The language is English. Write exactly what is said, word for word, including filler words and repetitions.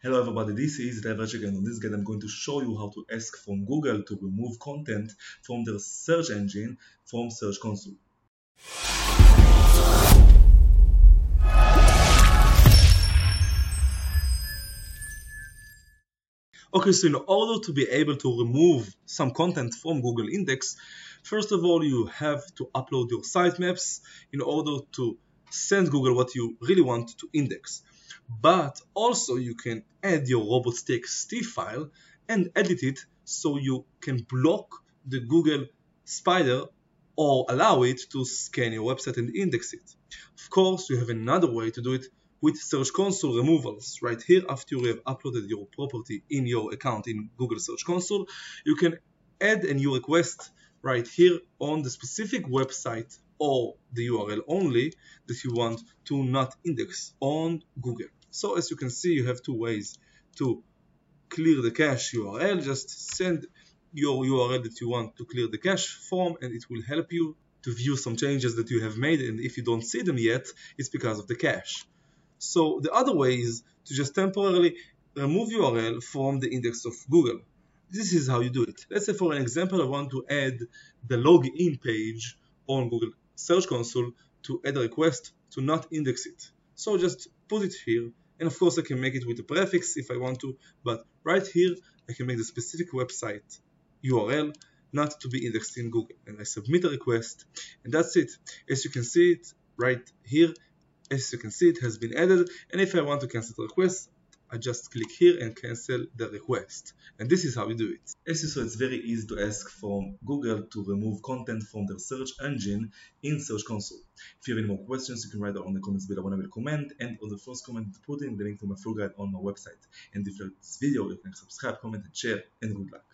Hello everybody, this is Divergent and on this guide I'm going to show you how to ask from Google to remove content from their search engine from Search Console. Okay, so in order to be able to remove some content from Google Index, first of all you have to upload your sitemaps in order to send Google what you really want to index. But also you can add your robots.txt file and edit it so you can block the Google spider or allow it to scan your website and index it. Of course, you have another way to do it with Search Console removals. Right here, after you have uploaded your property in your account in Google Search Console, you can add a new request right here on the specific website or the U R L only that you want to not index on Google. So as you can see, you have two ways to clear the cache U R L. Just send your U R L that you want to clear the cache from, and it will help you to view some changes that you have made, and if you don't see them yet, it's because of the cache. So the other way is to just temporarily remove U R L from the index of Google. This is how you do it. Let's say for an example, I want to add the login page on Google Search Console to add a request to not index it. So just put it here, and of course I can make it with a prefix if I want to, but right here I can make the specific website U R L not to be indexed in Google, and I submit a request, and that's it. As you can see it right here, as you can see it has been added, and if I want to cancel the request, I just click here and cancel the request. And this is how we do it. As you saw, it's very easy to ask from Google to remove content from their search engine in Search Console. If you have any more questions, you can write down in the comments below when I will comment, and on the first comment put in the link to my full guide on my website. And if you like this video, you can subscribe, comment and share, and good luck.